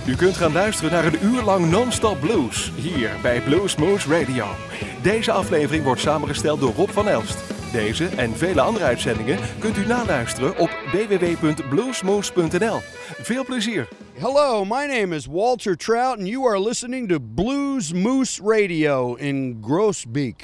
U kunt gaan luisteren naar een uur lang non-stop blues, hier bij Bluesmoose Radio. Deze aflevering wordt samengesteld door Rob van Elst. Deze en vele andere uitzendingen kunt u naluisteren op www.bluesmoose.nl. Veel plezier! Hello, my name is Walter Trout and you are listening to Blues Moose Radio in Groesbeek.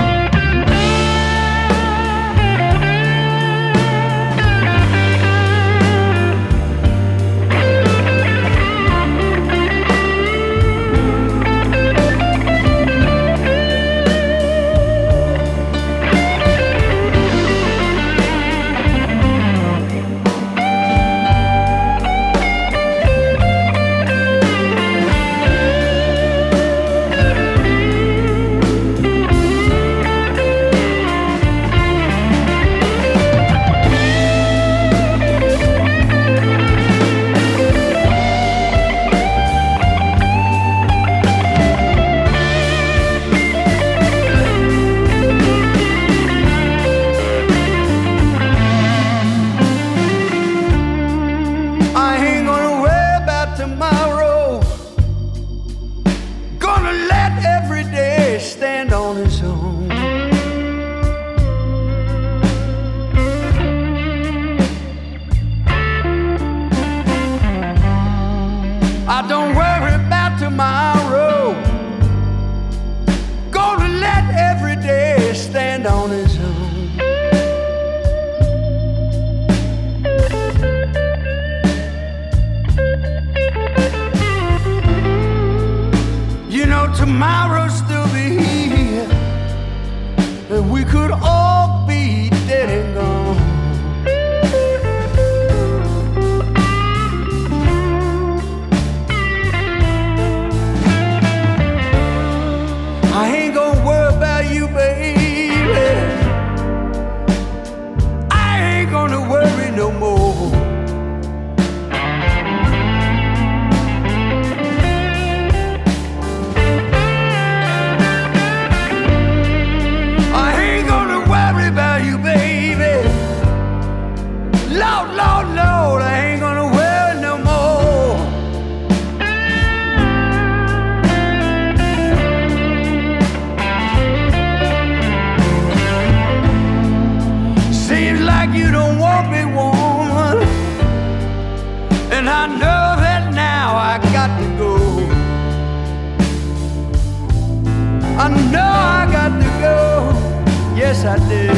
Tomorrow still be here, and we could all be dead and gone. I ain't gonna worry about you, baby. I ain't gonna worry no more. Lord, Lord, Lord, I ain't gonna worry no more. Seems like you don't want me, woman, and I know that now I got to go. I know I got to go, yes I did.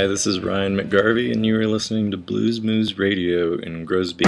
Hi, this is Ryan McGarvey, and you are listening to Blues Moose Radio in Grosby.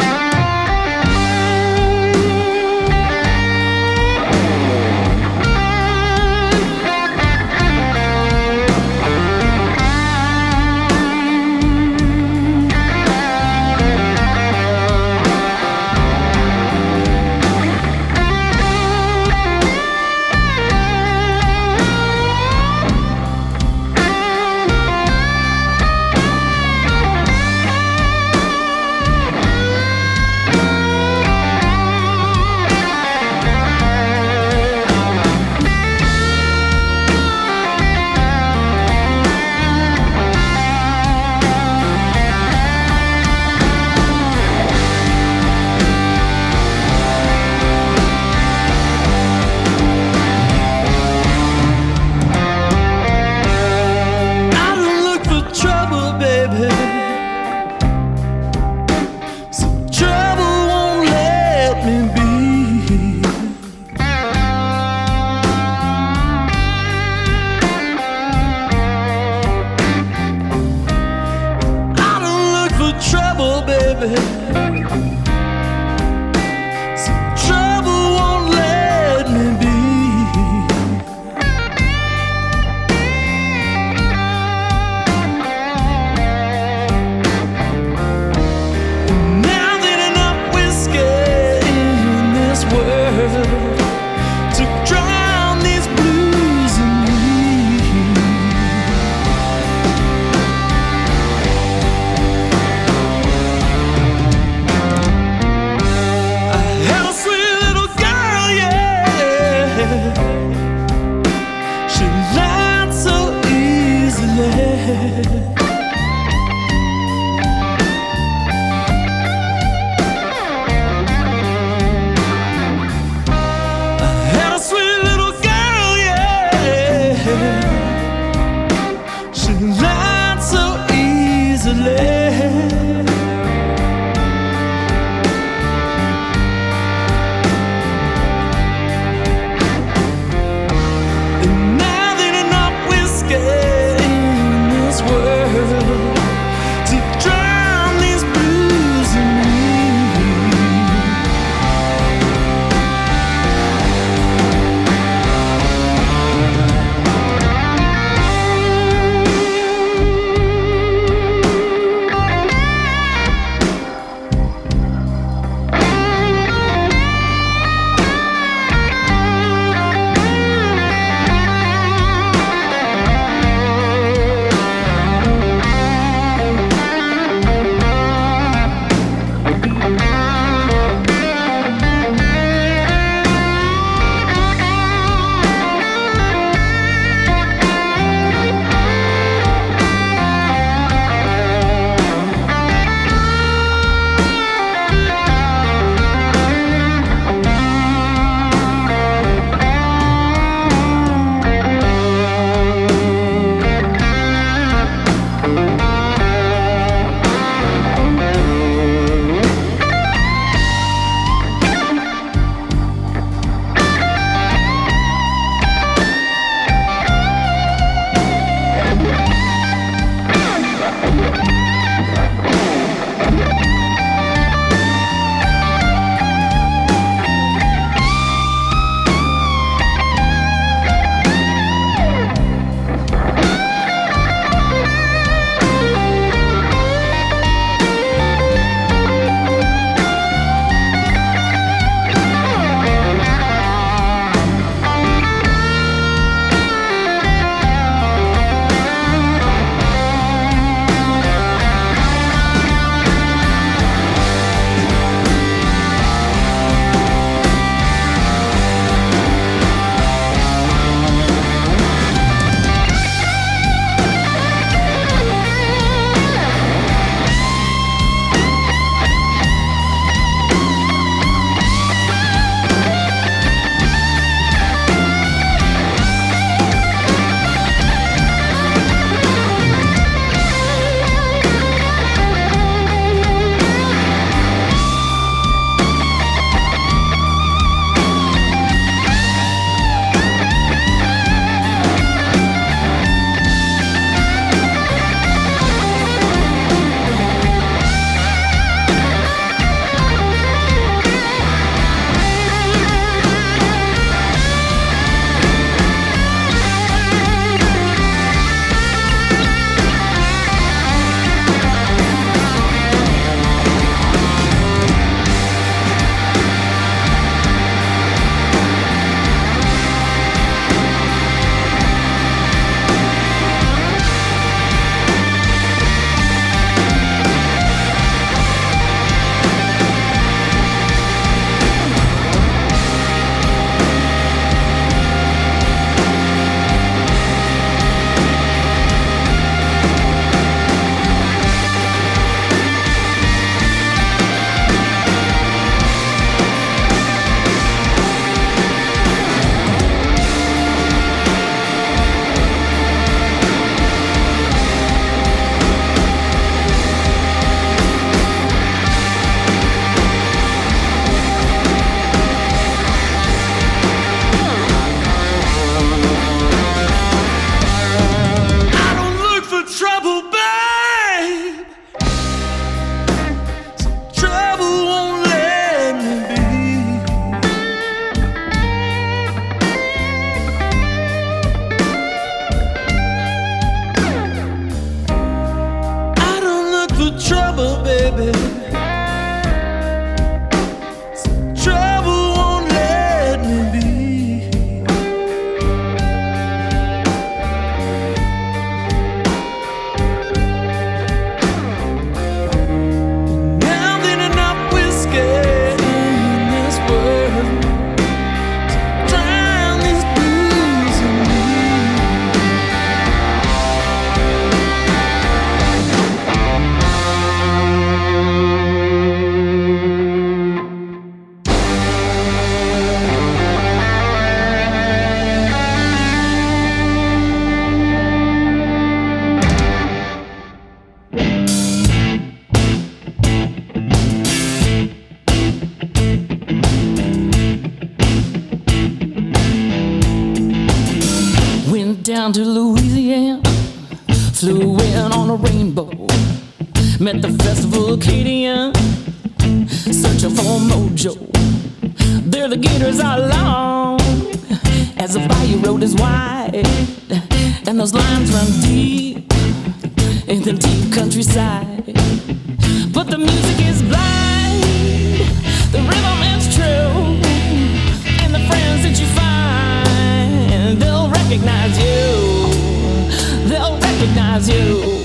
Joe. There the gators are long as the bayou road is wide, and those lines run deep in the deep countryside. But the music is blind, the rhythm is true, and the friends that you find, they'll recognize you, they'll recognize you.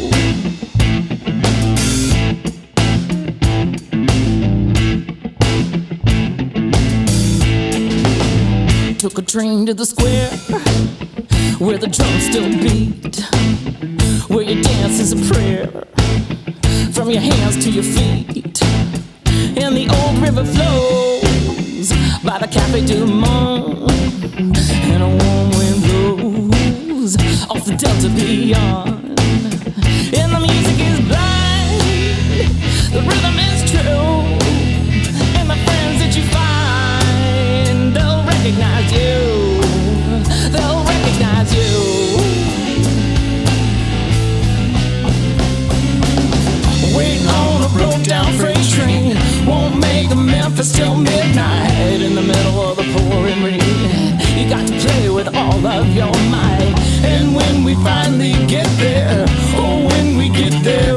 Took a train to the square where the drums still beat, where your dance is a prayer from your hands to your feet. And the old river flows by the Cafe du Monde, and a warm wind blows off the Delta beyond. And the music is blind, the rhythm is true, and the friends that you find, they'll recognize you, they'll recognize you. Waiting on a broke down freight train won't make Memphis till midnight. In the middle of the pouring rain, you got to play with all of your might. And when we finally get there, oh, when we get there,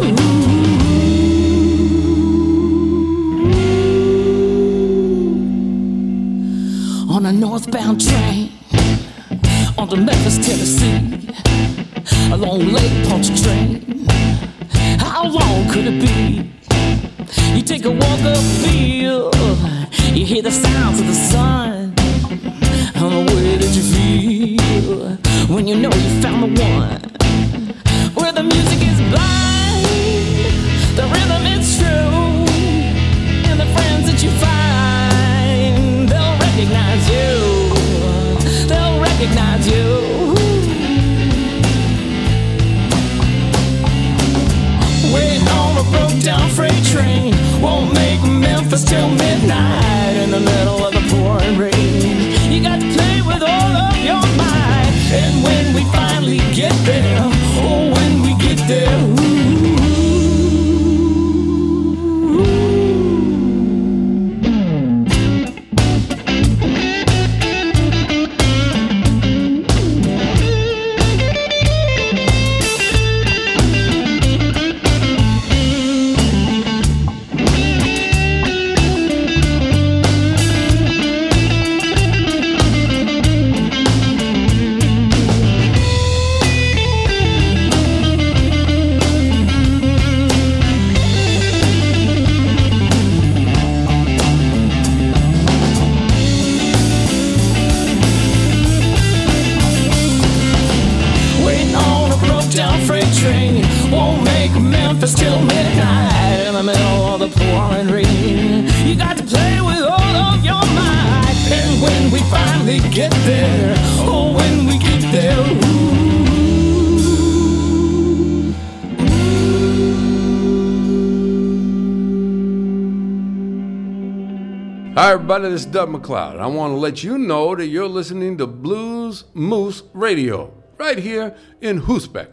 on a northbound train, on to Memphis, Tennessee, a long Lake Punch train. How long could it be? You take a walk upfield, you hear the sounds of the sun, and the way that you feel when you know you found the one. Where the music is blind, the rhythm is true, and the friends that you find, they'll recognize you, they'll recognize you. Waiting on a broke down freight train won't make Memphis till midnight. In the middle of the pouring rain, you got to play with all of your might. And when we finally get there, oh, when we get there, Memphis till midnight. In the middle of the pouring rain, you got to play with all of your might. And when we finally get there, oh, when we get there, Hi everybody, this is Doug McLeod. I want to let you know that you're listening to Blues Moose Radio, right here in Hoosbeck.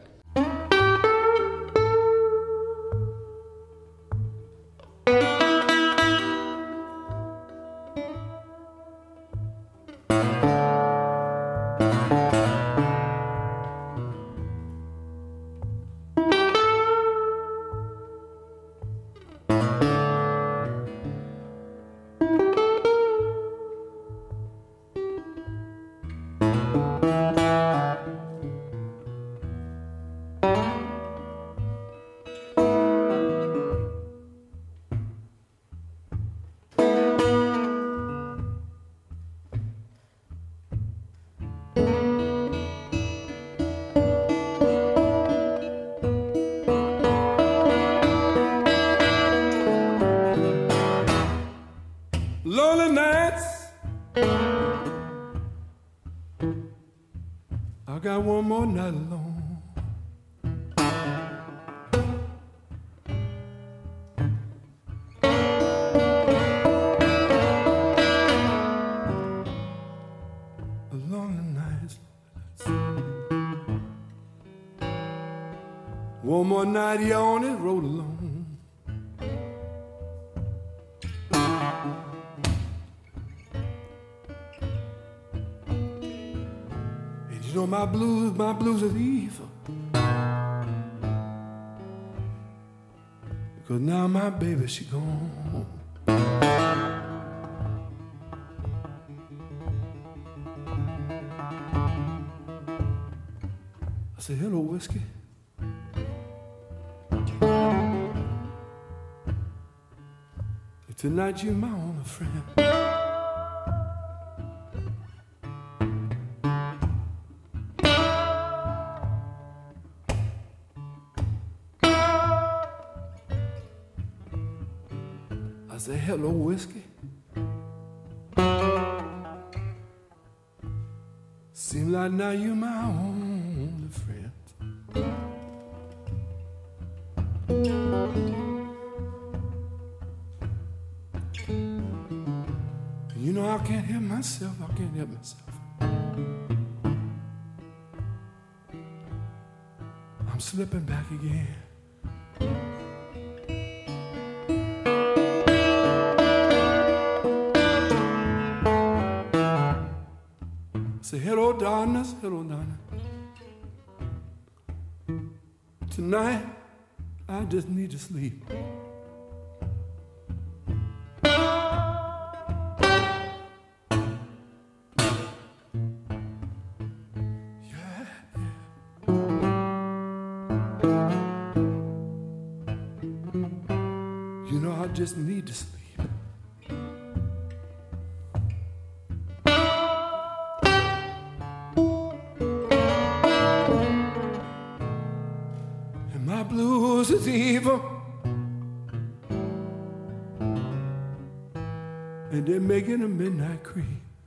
Lonely nights, I got one more night alone. Lonely nights, one more night here on this road alone. You know my blues is evil. Because now my baby, she gone. I said, hello, whiskey. Tonight you're my only friend. I say, hello, whiskey. Seems like now you're my only friend. You know I can't help myself. I can't help myself. I'm slipping back again. Say hello, darkness, hello, darkness. Tonight, I just need to sleep. You know, I just need to sleep. And my blues is evil. And they're making a midnight creep.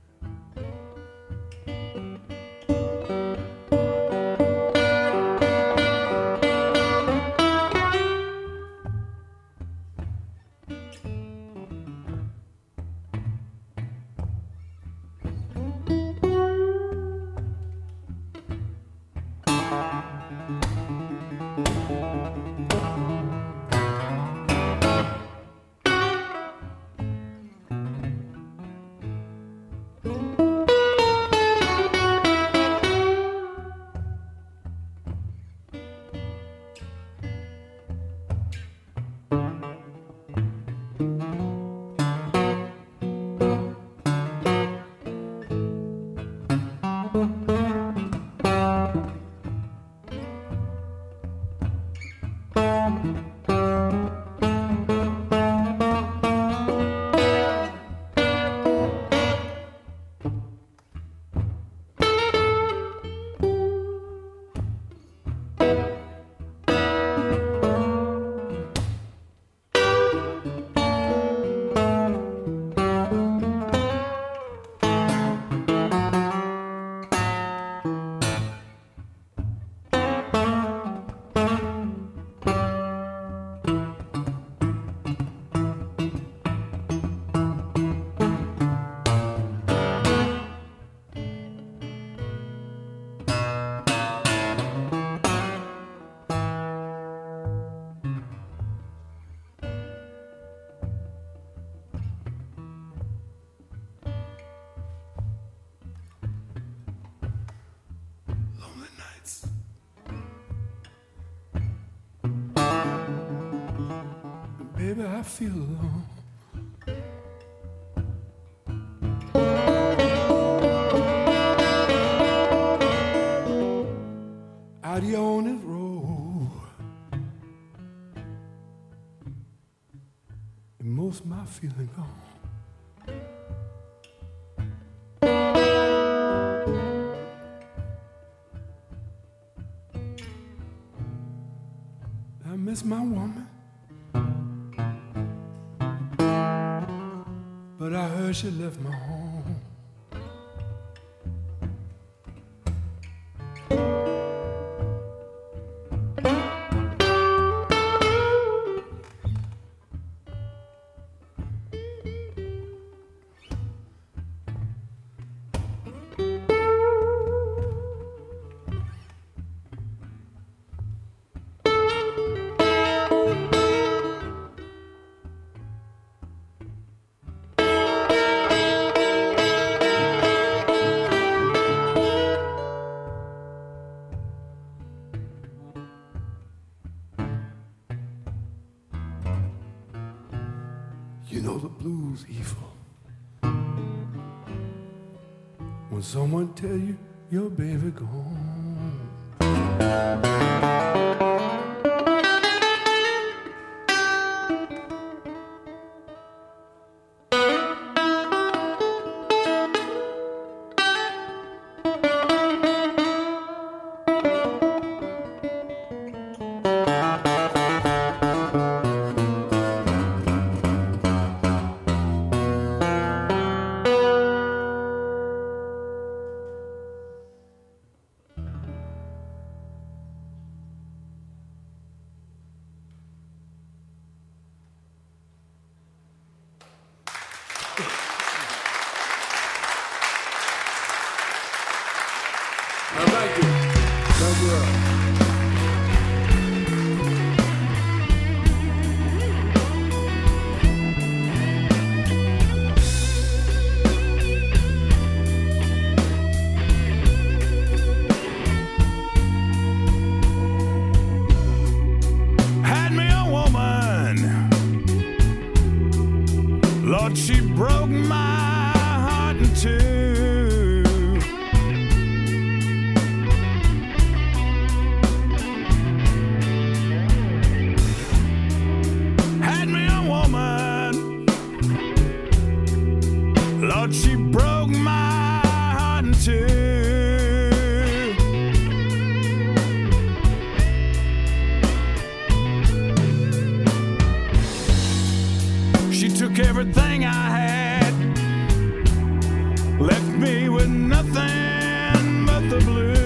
Baby, I feel alone. Out here on this road, and most of my feeling gone. I miss my woman. But I heard she left my home. when someone tell you your baby gone. Thank you. Thank you. Had me a woman, Lord, she broke my heart in two. Had me a woman, Lord, she broke my heart in two. She took everything I had, left me with nothing but the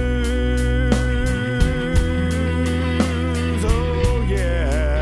blues. Oh yeah.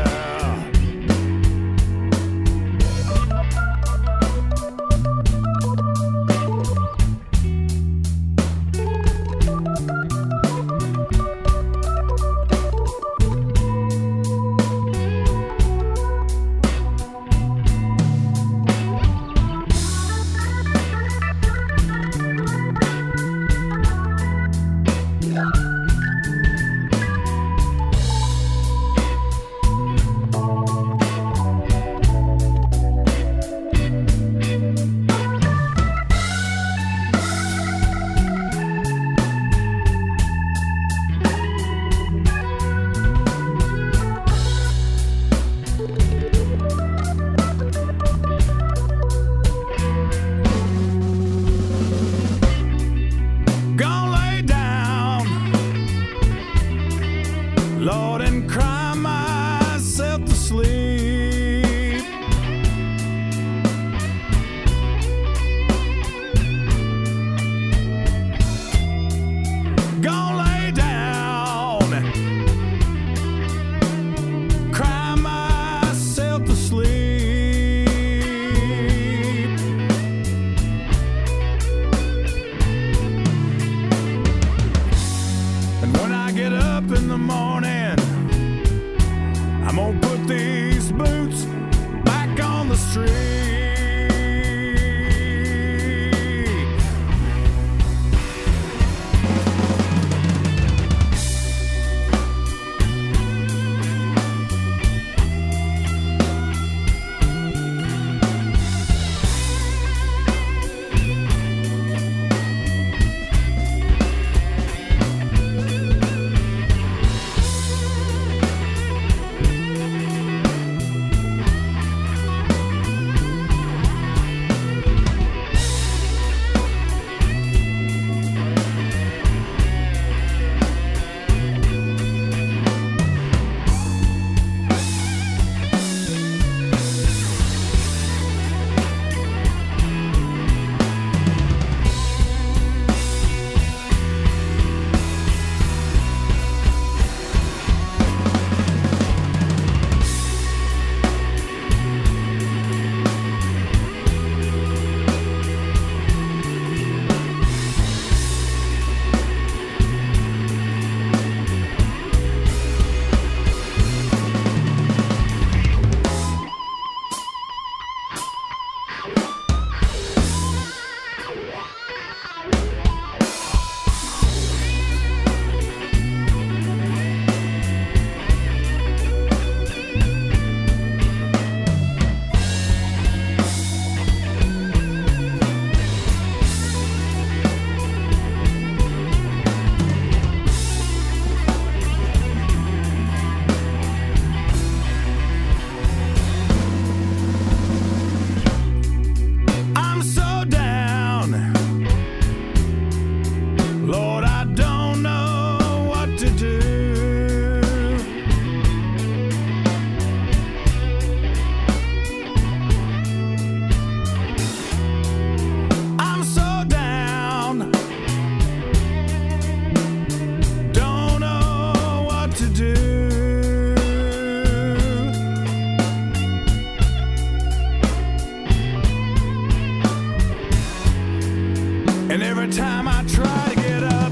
And every time I try to get up,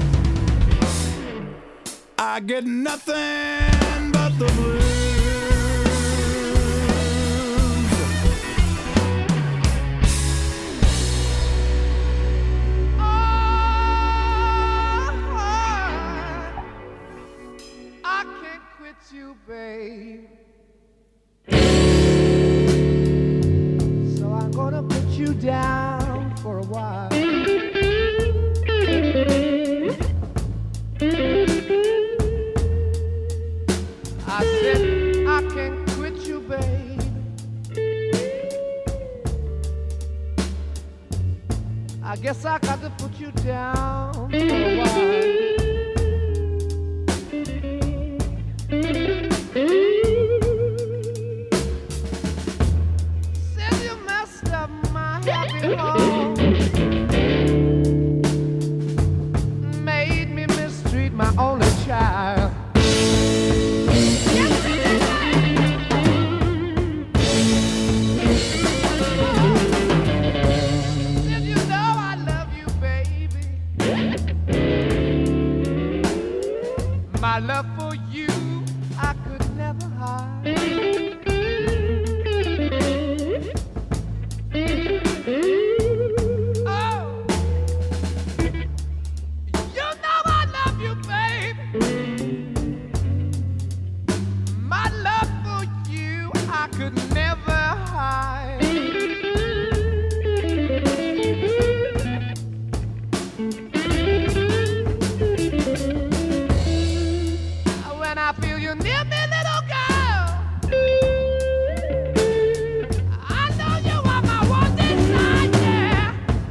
I get nothing but the blues. I can't quit you, babe. So I'm gonna put you down for a while. I said I can't quit you, babe. I guess I got to put you down for a while. Said you messed up my happy home, made me mistreat my only child. Said you know I love you, baby. My love for you I could never hide. Oh, you know I love you, baby. My love for you I could never hide. When I feel you near me, little girl, I know you are my one desire.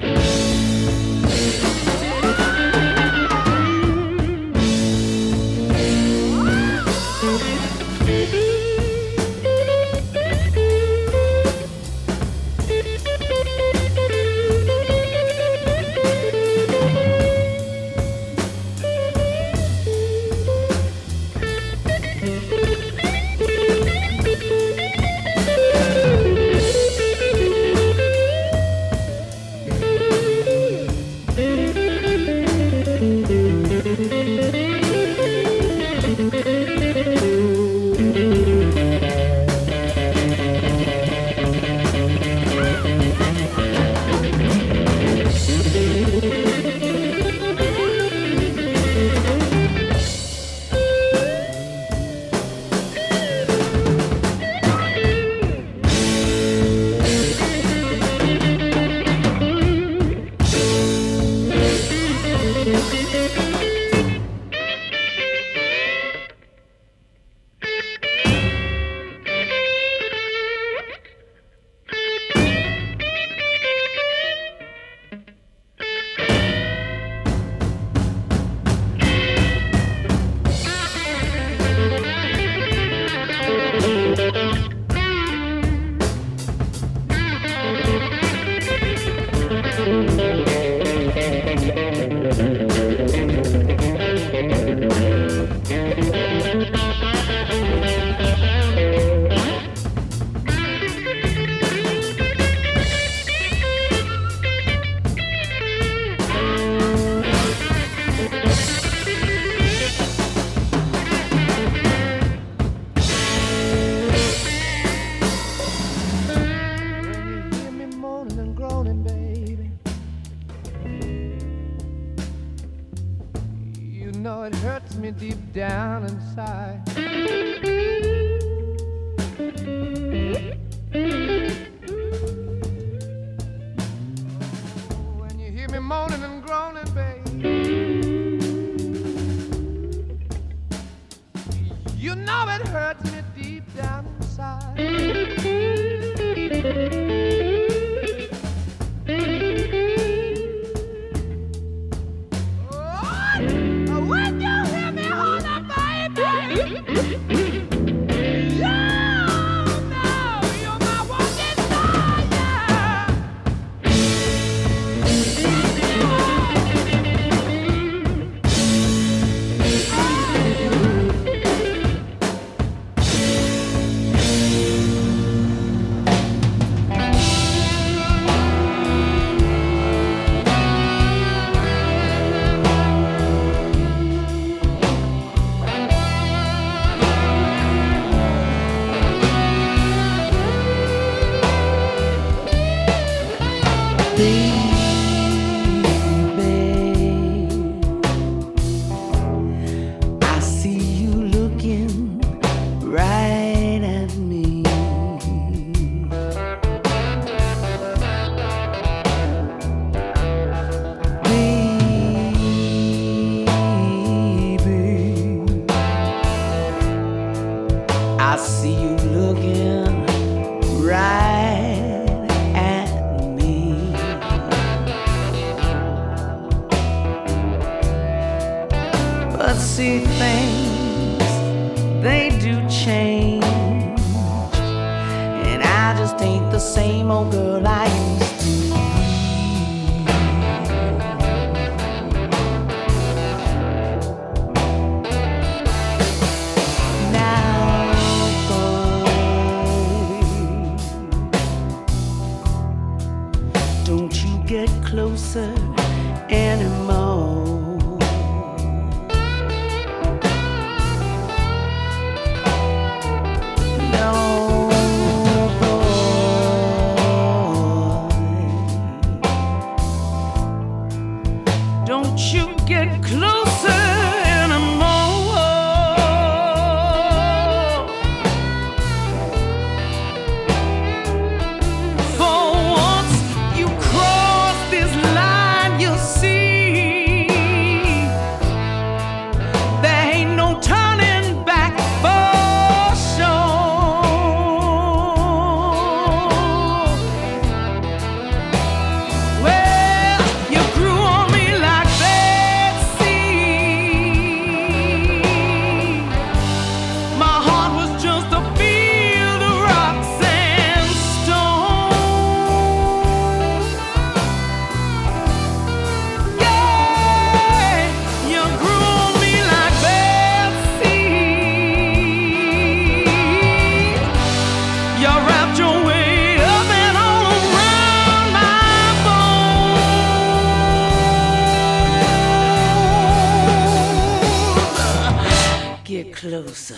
Down inside. When you hear me moaning and groaning, babe, you know it hurts me deep down inside. When you hear me holler, baby. But see, things, they do change, and I just ain't the same old girl I used to be. Now, boy, don't you get closer anymore. Closer.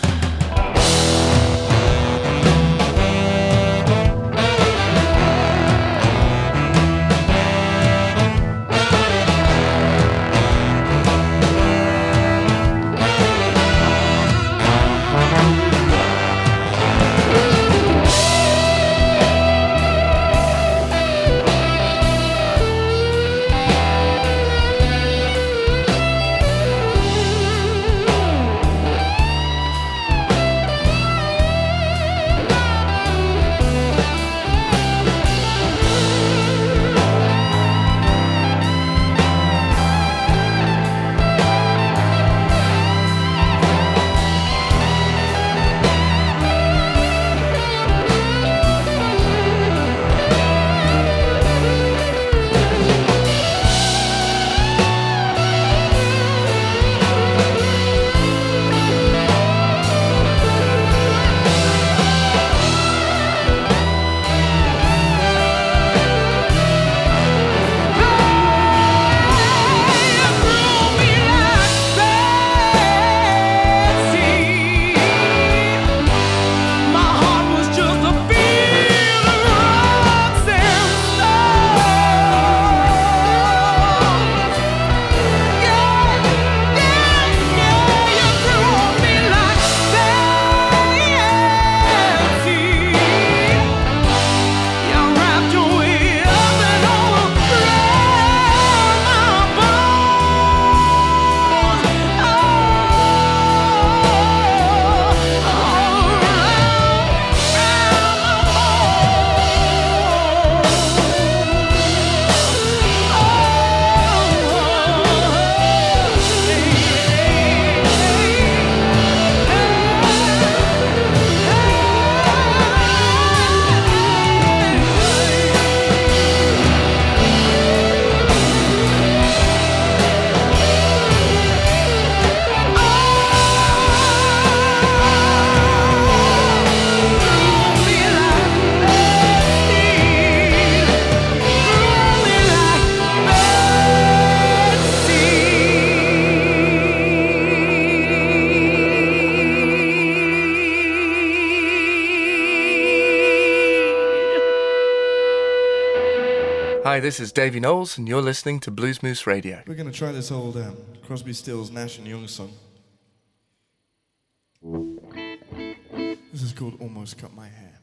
Hi, this is Davey Knowles, and you're listening to Blues Moose Radio. We're going to try this old Crosby, Stills, Nash & Young song. This is called Almost Cut My Hair.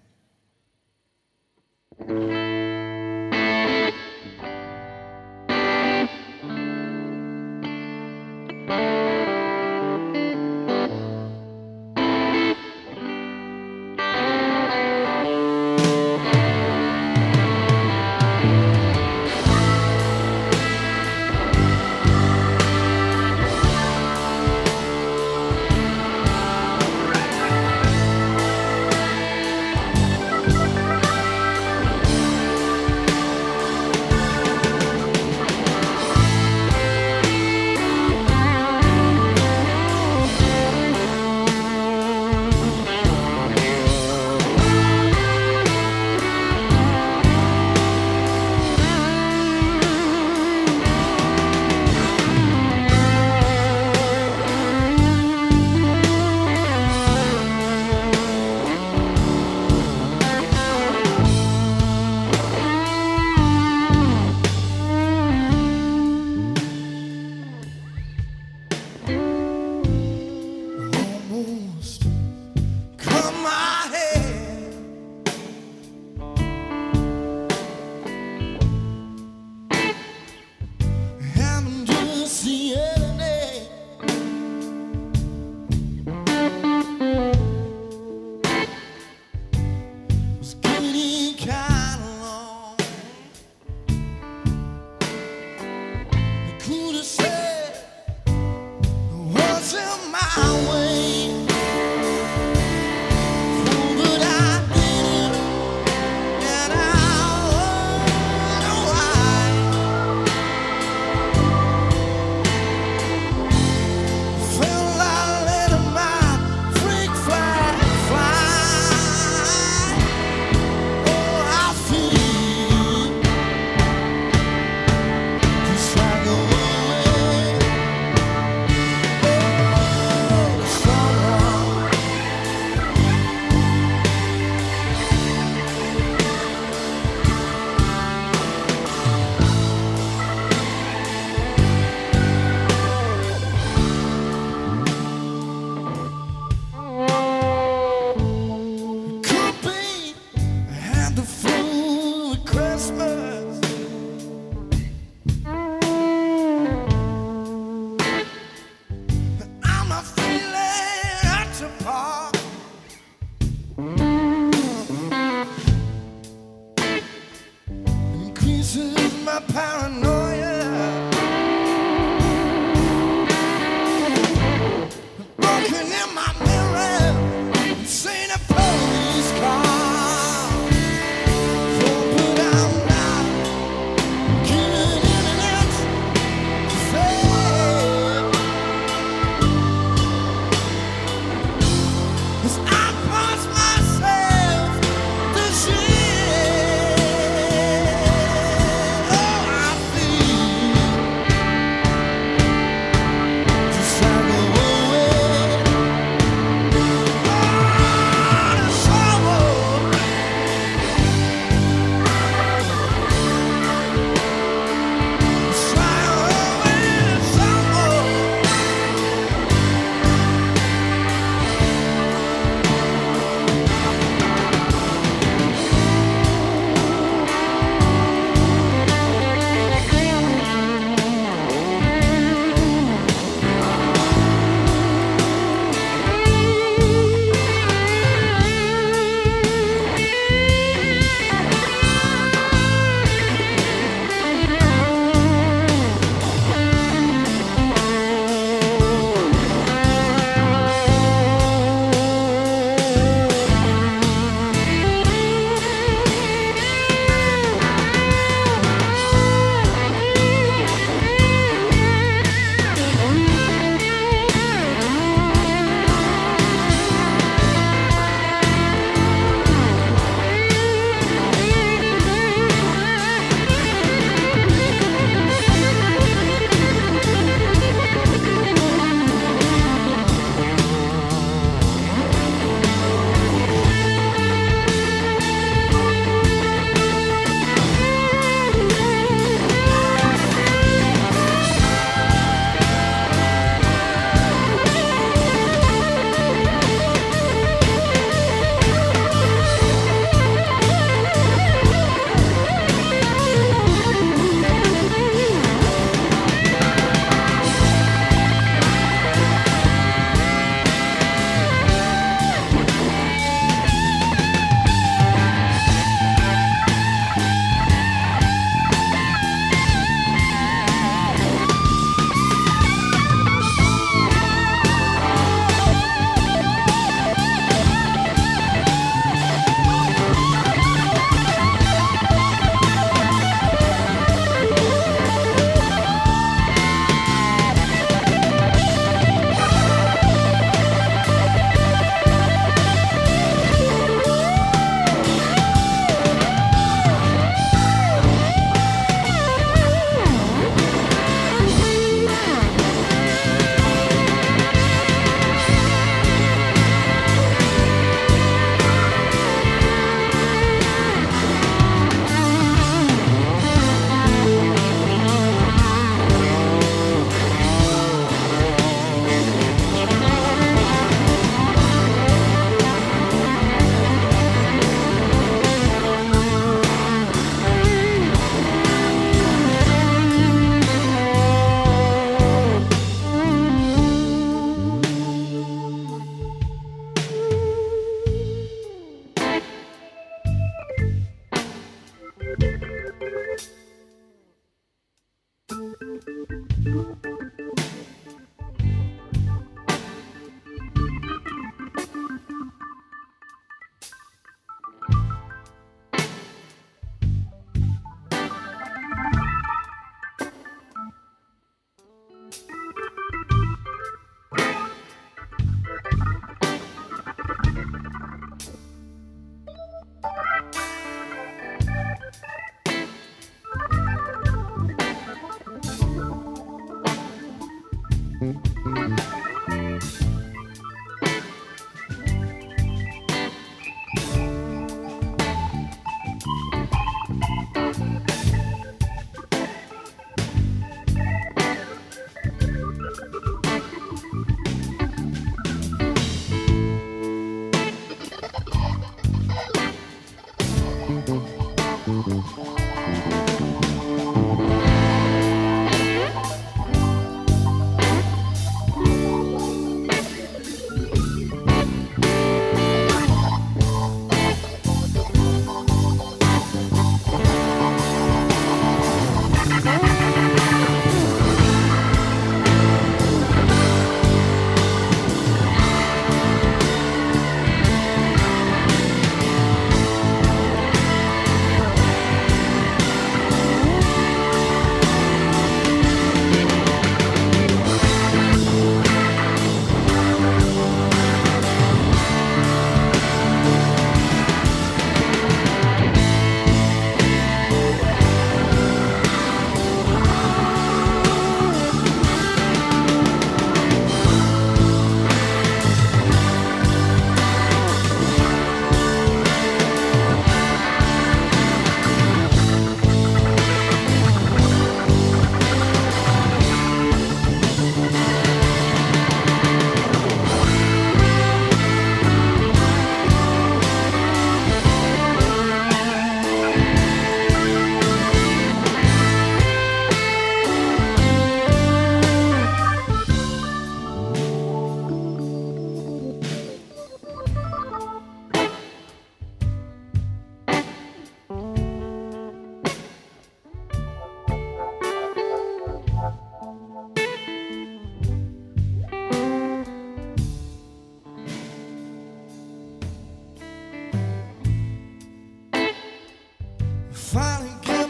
Finally get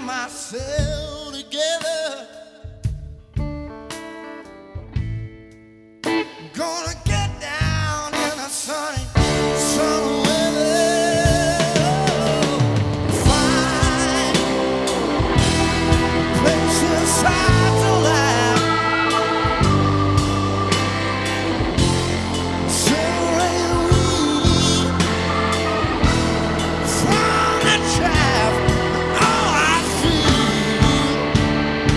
myself together. Gonna get down in the sunny weather. Find places hard to laugh. Separate we from the chaff. Oh, I feel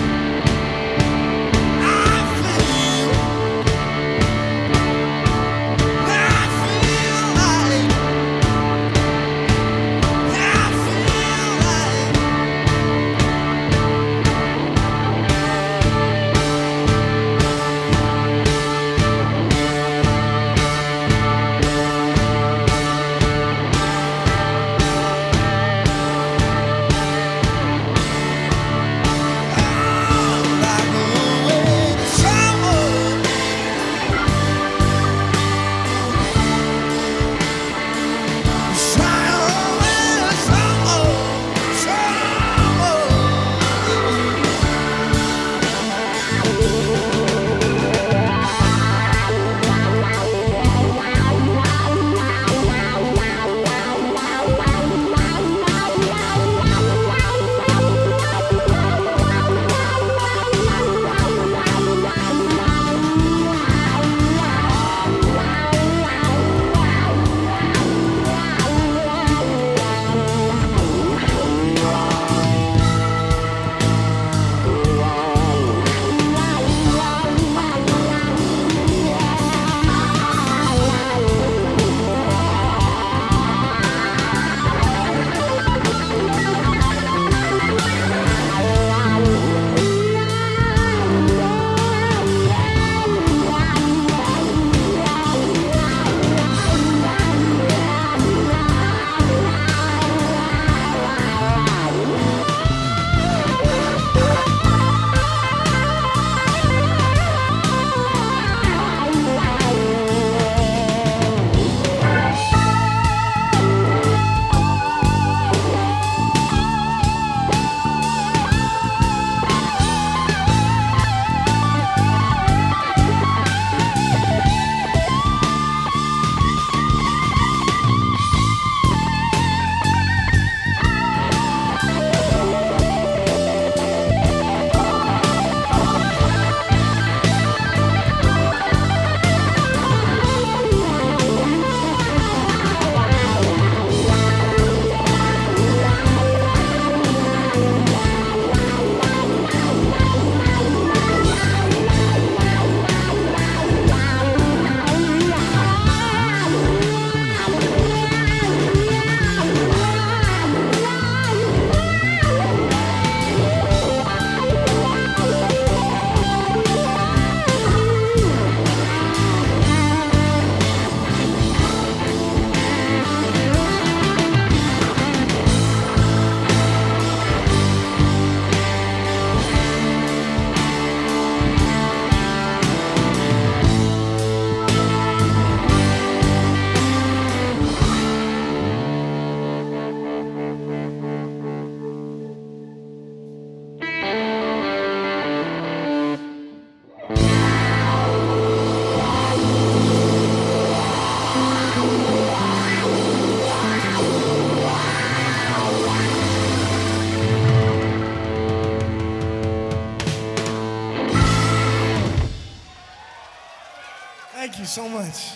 Thank you so much.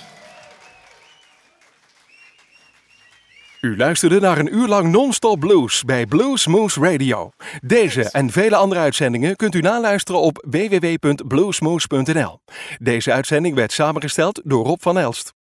U luisterde naar een uur lang non-stop blues bij Blues Moose Radio. Deze en vele andere uitzendingen kunt u naluisteren op www.bluesmoose.nl. Deze uitzending werd samengesteld door Rob van Elst.